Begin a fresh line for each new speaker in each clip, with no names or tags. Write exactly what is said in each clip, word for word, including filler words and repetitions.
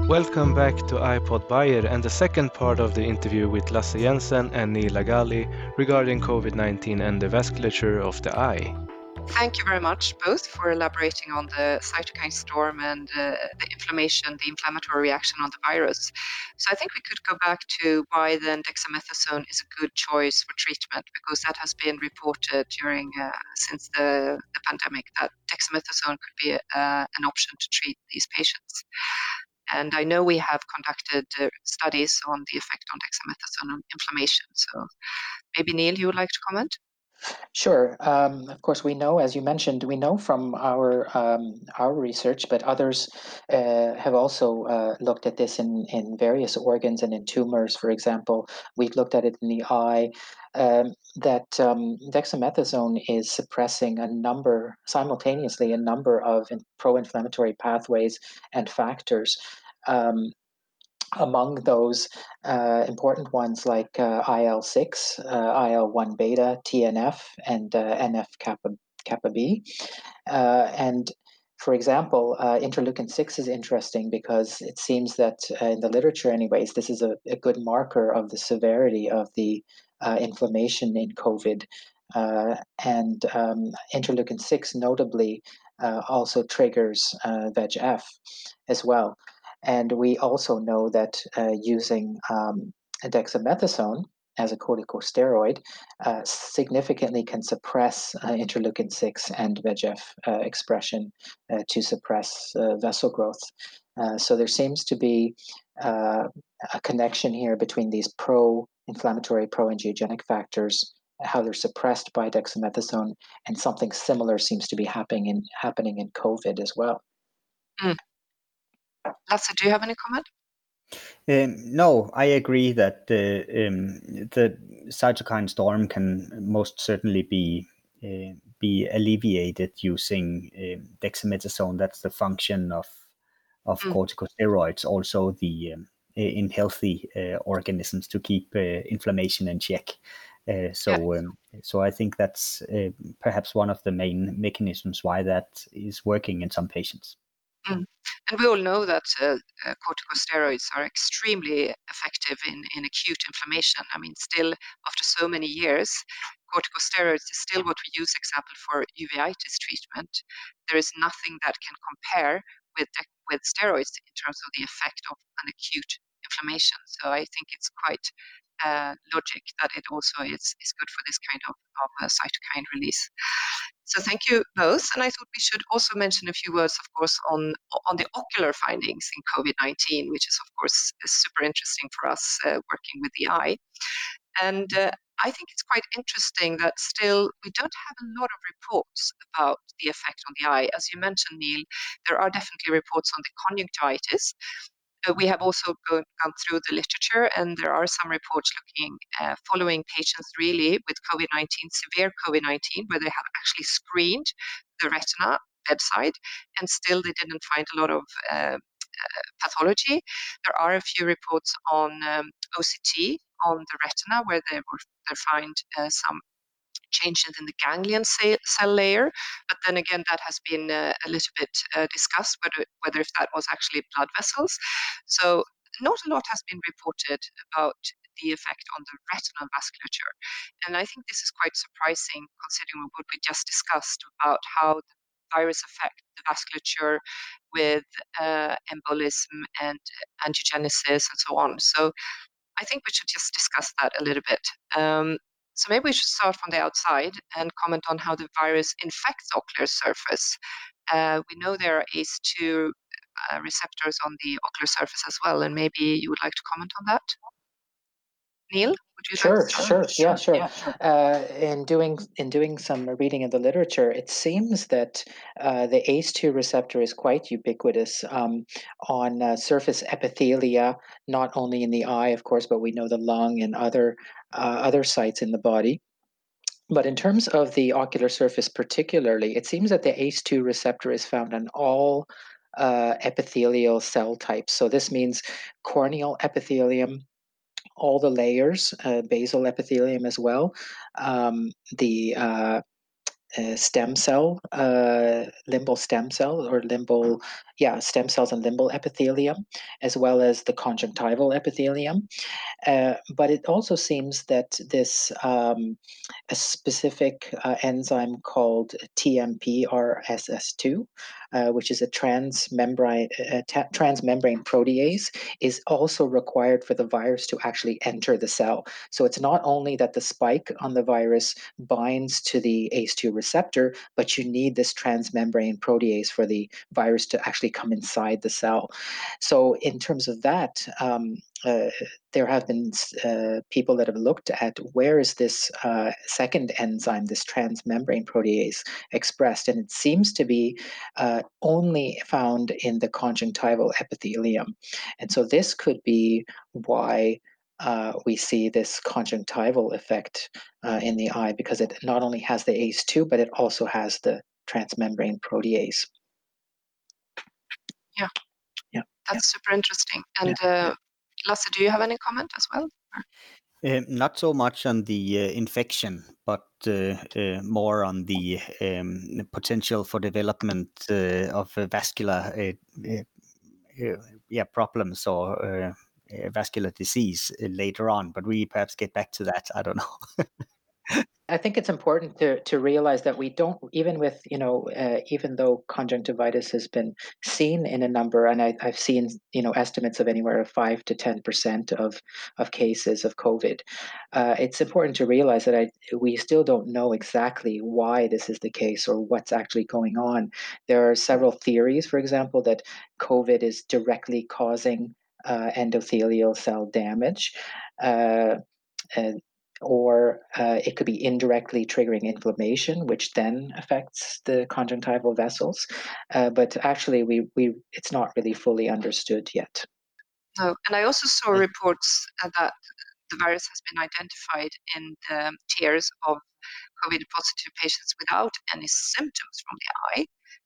Welcome back to iPod Bayer and the second part of the interview with Lasse Jensen and Neil Agali regarding COVID nineteen and the vasculature of the eye.
Thank you very much, both, for elaborating on the cytokine storm and uh, the inflammation, the inflammatory reaction on the virus. So I think we could go back to why then dexamethasone is a good choice for treatment, because that has been reported during uh, since the, the pandemic that dexamethasone could be uh, an option to treat these patients. And I know we have conducted uh, studies on the effect on dexamethasone on inflammation. So maybe Neil, you would like to comment?
Sure. Um, of course, we know, as you mentioned, we know from our um, our research, but others uh, have also uh, looked at this in, in various organs and in tumors. For example, we've looked at it in the eye. Um, that um, dexamethasone is suppressing a number, simultaneously, a number of in- pro-inflammatory pathways and factors. Um, among those uh, important ones like uh, I L six, uh, I L one beta, T N F, and uh, N F kappa, kappa B. Uh, and for example, uh, interleukin six is interesting because it seems that uh, in the literature, anyways, this is a, a good marker of the severity of the uh, inflammation in COVID. Uh, and um, interleukin six notably uh, also triggers uh, V E G F as well. And we also know that uh, using um, dexamethasone as a corticosteroid uh, significantly can suppress uh, interleukin six and V E G F uh, expression uh, to suppress uh, vessel growth. Uh, so there seems to be uh, a connection here between these pro-inflammatory, pro-angiogenic factors, how they're suppressed by dexamethasone, and something similar seems to be happening in happening in COVID as well.
Mm. Lasse, do you have any comment?
Um, no, I agree that the um, the cytokine storm can most certainly be uh, be alleviated using um, dexamethasone. That's the function of of
Mm.
corticosteroids. Also, the um, in healthy uh, organisms to keep uh, inflammation in check. Uh, so,
Yeah.
um, so I think that's uh, perhaps one of the main mechanisms why that is working in some patients.
Mm. And we all know that uh, uh, corticosteroids are extremely effective in, in acute inflammation. I mean, still, after so many years, corticosteroids is still what we use, example, for uveitis treatment. There is nothing that can compare with, with steroids in terms of the effect of an acute inflammation. So I think it's quite uh, logic that it also is, is good for this kind of, of uh, cytokine release. So thank you both. And I thought we should also mention a few words, of course, on, on the ocular findings in COVID nineteen, which is, of course, super interesting for us uh, working with the eye. And uh, I think it's quite interesting that still we don't have a lot of reports about the effect on the eye. As you mentioned, Neil, there are definitely reports on the conjunctivitis. Uh, we have also go, gone through the literature, and there are some reports looking, uh, following patients really with COVID nineteen, severe COVID nineteen, where they have actually screened the retina bedside, and still they didn't find a lot of uh, uh, pathology. There are a few reports on um, O C T on the retina, where they were they find uh, some changes in the ganglion cell layer, but then again that has been uh, a little bit uh, discussed whether whether if that was actually blood vessels. So not a lot has been reported about the effect on the retinal vasculature, and I think this is quite surprising considering what we just discussed about how the virus affect the vasculature with uh, embolism and angiogenesis and so on. So I think we should just discuss that a little bit. Um, so maybe we should start from the outside and comment on how the virus infects the ocular surface. Uh, we know there are A C E two uh, receptors on the ocular surface as well, and maybe you would like to comment on that? Neil, would you
Sure,
like to
sure, yeah, sure. Uh, in doing in doing some reading of the literature, it seems that uh, the A C E two receptor is quite ubiquitous um, on uh, surface epithelia, not only in the eye, of course, but we know the lung and other uh, other sites in the body. But in terms of the ocular surface, particularly, it seems that the A C E two receptor is found on all uh, epithelial cell types. So this means corneal epithelium, all the layers, uh, basal epithelium as well, um, the uh, uh, stem cell, uh, limbal stem cell, or limbal, yeah, stem cells and limbal epithelium, as well as the conjunctival epithelium. Uh, but it also seems that this um, a specific uh, enzyme called T M P R S S two, uh, which is a transmembrane uh, ta- transmembrane protease, is also required for the virus to actually enter the cell. So it's not only that the spike on the virus binds to the A C E two receptor, but you need this transmembrane protease for the virus to actually come inside the cell. So in terms of that, um, uh, there have been uh, people that have looked at where is this uh, second enzyme, this transmembrane protease, expressed, and it seems to be uh, only found in the conjunctival epithelium. And so this could be why uh, we see this conjunctival effect uh, in the eye, because it not only has the A C E two, but it also has the transmembrane protease.
Yeah.
Yeah.
That's super interesting. And uh, Lasse, do you have any comment as well?
Uh, not so much on the uh, infection, but uh, uh, more on the um, potential for development uh, of uh, vascular uh, uh, uh, yeah, problems or uh, uh, vascular disease uh, later on. But we perhaps get back to that. I don't know.
I think it's important to to realize that we don't, even with, you know, uh, even though conjunctivitis has been seen in a number, and I, I've seen, you know, estimates of anywhere of five to ten percent of of cases of COVID. Uh, it's important to realize that I we still don't know exactly why this is the case or what's actually going on. There are several theories, for example, that COVID is directly causing uh, endothelial cell damage. Uh, and or uh, it could be indirectly triggering inflammation, which then affects the conjunctival vessels. Uh, but actually, we, we it's not really fully understood yet.
No, and I also saw reports uh, that the virus has been identified in the tears of COVID-positive patients without any symptoms from the eye.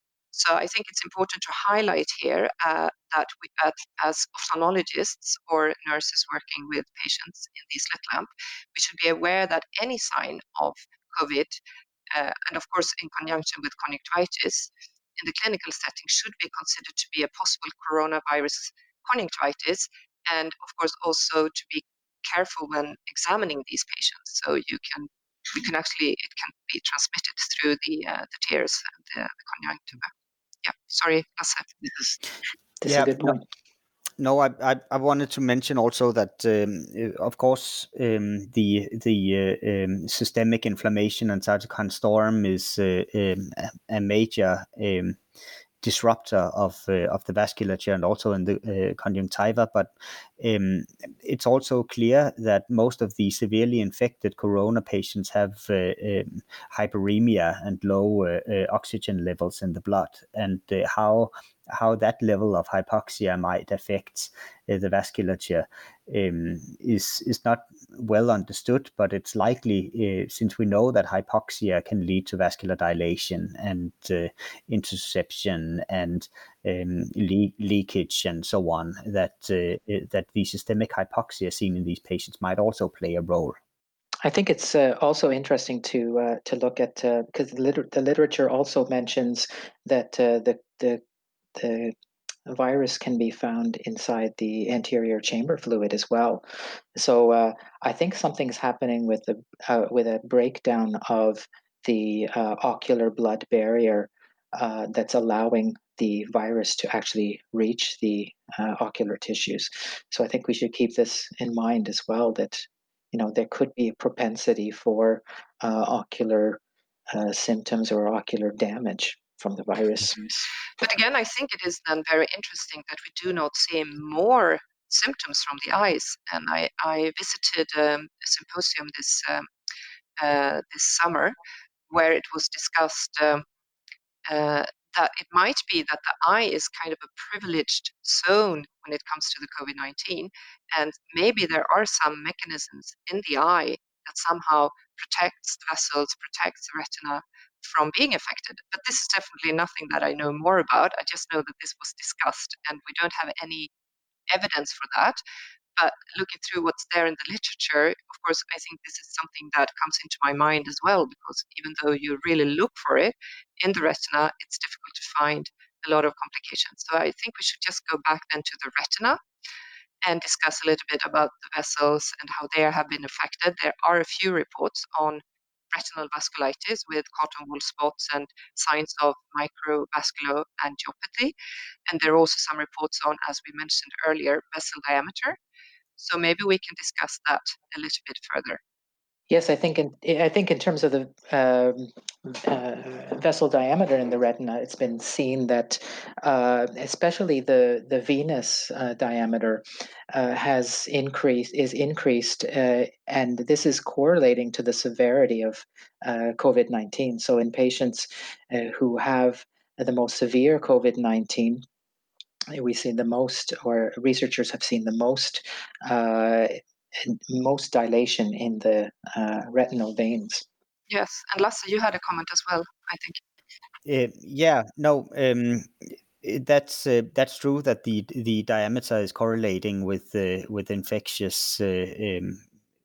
So I think it's important to highlight here uh, that we, uh, as ophthalmologists or nurses working with patients in the slit lamp, we should be aware that any sign of COVID, uh, and of course in conjunction with conjunctivitis, in the clinical setting should be considered to be a possible coronavirus conjunctivitis, and of course also to be careful when examining these patients. So you can, we can actually, it can be transmitted through the uh, the tears and the, the conjunctiva. Yeah, sorry, Lasse.
This is, this
Yeah,
is a good point.
No, I, I I wanted to mention also that um, of course um, the the uh, um, systemic inflammation and cytokine storm is uh, um, a, a major um, disruptor of uh, of the vasculature and also in the uh, conjunctiva. But um, it's also clear that most of the severely infected corona patients have uh, um, hyperemia and low uh, uh, oxygen levels in the blood, and uh, how how that level of hypoxia might affect uh, the vasculature um, is is not well understood, but it's likely uh, since we know that hypoxia can lead to vascular dilation and uh, intussusception and um, le- leakage and so on, that uh, that the systemic hypoxia seen in these patients might also play a role.
I think it's uh, also interesting to uh, to look at uh, because the, liter- the literature also mentions that uh, the the the virus can be found inside the anterior chamber fluid as well. So uh, I think something's happening with the uh, with a breakdown of the uh, ocular blood barrier uh, that's allowing the virus to actually reach the uh, ocular tissues. So I think we should keep this in mind as well, that you know there could be a propensity for uh, ocular uh, symptoms or ocular damage from the virus.
But again, I think it is then very interesting that we do not see more symptoms from the eyes. And I, I visited um, a symposium this um, uh, this summer where it was discussed um, uh, that it might be that the eye is kind of a privileged zone when it comes to the COVID nineteen, and maybe there are some mechanisms in the eye that somehow protects the vessels, protects the retina from being affected. But this is definitely nothing that I know more about. I just know that this was discussed, and we don't have any evidence for that. But looking through what's there in the literature, of course, I think this is something that comes into my mind as well, because even though you really look for it in the retina, it's difficult to find a lot of complications. So I think we should just go back then to the retina and discuss a little bit about the vessels and how they have been affected. There are a few reports on retinal vasculitis with cotton wool spots and signs of microvascular angiopathy. And there are also some reports on, as we mentioned earlier, vessel diameter. So maybe we can discuss that a little bit further.
Yes, I think in I think in terms of the um, uh, vessel diameter in the retina, it's been seen that uh, especially the the venous uh, diameter uh, has increased is increased, uh, and this is correlating to the severity of uh, COVID nineteen. So in patients uh, who have the most severe COVID nineteen, we see the most, or researchers have seen the most, uh, most dilation in the uh, retinal veins.
Yes, and Lasse, you had a comment as well, I think.
Uh, yeah, no, um, that's uh, that's true that the the diameter is correlating with uh, with infectious uh, um,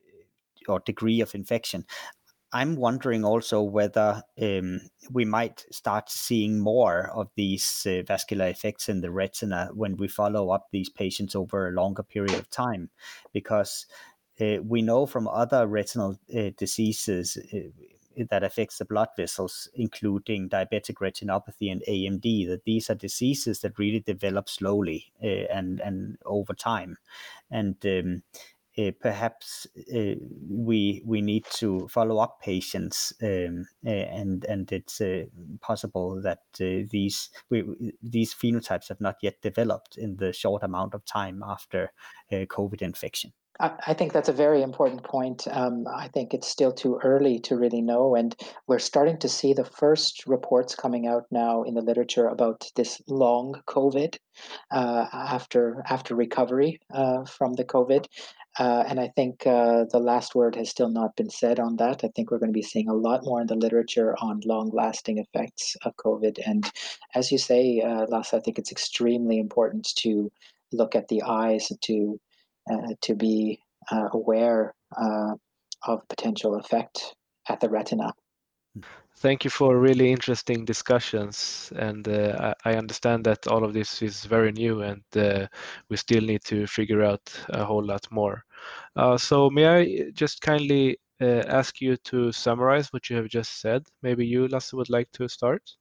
or degree of infection. I'm wondering also whether um, we might start seeing more of these uh, vascular effects in the retina when we follow up these patients over a longer period of time, because uh, we know from other retinal uh, diseases uh, that affects the blood vessels, including diabetic retinopathy and A M D, that these are diseases that really develop slowly uh, and and over time, and um, uh, perhaps uh, we we need to follow up patients, um, uh, and and it's uh, possible that uh, these we, these phenotypes have not yet developed in the short amount of time after uh, COVID infection.
I think that's a very important point. Um, I think it's still too early to really know, and we're starting to see the first reports coming out now in the literature about this long COVID uh, after after recovery uh, from the COVID. Uh, and I think uh, the last word has still not been said on that. I think we're going to be seeing a lot more in the literature on long-lasting effects of COVID. And as you say, uh, Lasse, I think it's extremely important to look at the eyes to uh, to be uh, aware uh, of potential effect at the retina.
Thank you for really interesting discussions, and uh, I I understand that all of this is very new, and uh, we still need to figure out a whole lot more. Uh, so may I just kindly uh, ask you to summarize what you have just said? Maybe you, Lasse, would like to start?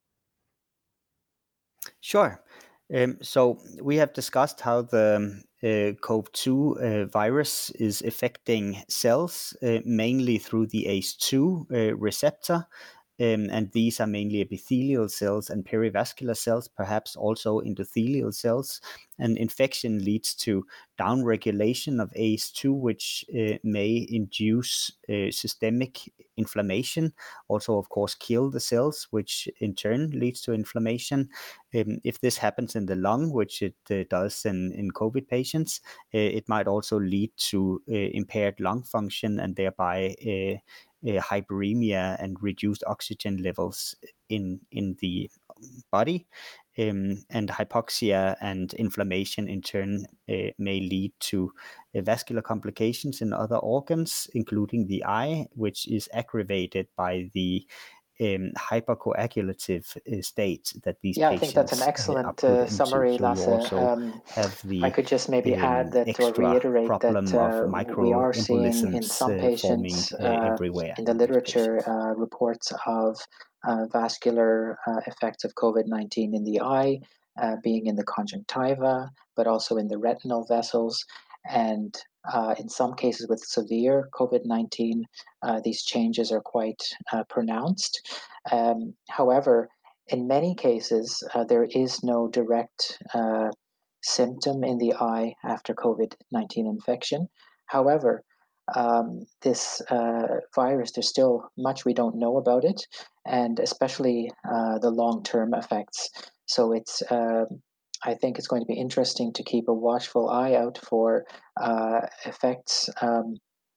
Sure. Um, so we have discussed how the uh, CoV two uh, virus is affecting cells, uh, mainly through the A C E two uh, receptor. Um, and these are mainly epithelial cells and perivascular cells, perhaps also endothelial cells. And infection leads to downregulation of A C E two, which uh, may induce uh, systemic inflammation, also, of course, kill the cells, which in turn leads to inflammation. Um, if this happens in the lung, which it uh, does in, in COVID patients, uh, it might also lead to uh, impaired lung function and thereby uh, uh, hyperemia and reduced oxygen levels in in the body, um, and hypoxia and inflammation in turn uh, may lead to uh, vascular complications in other organs, including the eye, which is aggravated by the um, hypercoagulative uh, state that these
Yeah, I think that's an
patients uh, are
excellent
put
uh,
into.
summary,
So you
Lasse.
also
Um,
have
I
the
could just maybe add
um,
that, or
extra
reiterate that
problem of
uh, we are seeing in
microembolisms
some
uh, forming
patients
uh,
uh,
everywhere
in the
in these
literature
patients.
uh, reports of uh, vascular uh, effects of COVID nineteen in the eye, uh, being in the conjunctiva, but also in the retinal vessels. And uh, in some cases with severe COVID nineteen, uh, these changes are quite uh, pronounced. Um, however, in many cases, uh, there is no direct uh, symptom in the eye after COVID nineteen infection. However, um, this uh, virus, there's still much we don't know about it, and especially uh, the long term effects. So it's uh, I think it's going to be interesting to keep a watchful eye out for uh, effects um,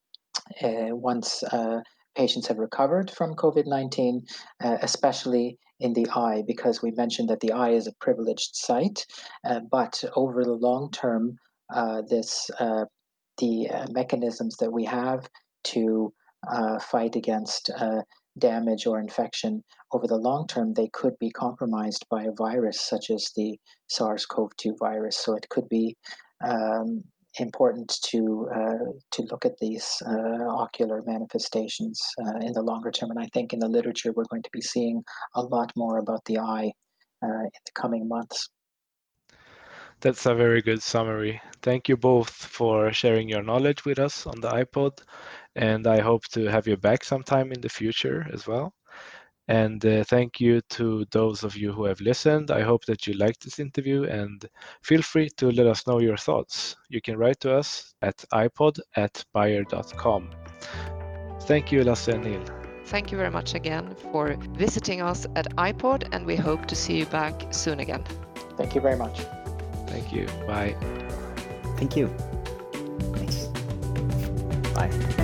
uh, once uh, patients have recovered from COVID nineteen, uh, especially in the eye, because we mentioned that the eye is a privileged site. Uh, but over the long term, uh, this uh, the uh, mechanisms that we have to uh, fight against uh, damage or infection over the long term, they could be compromised by a virus such as the SARS CoV two virus. So it could be um, important to uh, to look at these uh, ocular manifestations uh, in the longer term. And I think in the literature we're going to be seeing a lot more about the eye uh, in the coming months.
That's a very good summary. Thank you both for sharing your knowledge with us on the iPod, and I hope to have you back sometime in the future as well. And uh, thank you to those of you who have listened. I hope that you liked this interview, and feel free to let us know your thoughts. You can write to us at ipod at bayer dot com. Thank you, Lasse and Neil.
Thank you very much again for visiting us at iPod, and we hope to see you back soon again.
Thank you very much.
Thank you. Bye.
Thank you. Thanks. Bye.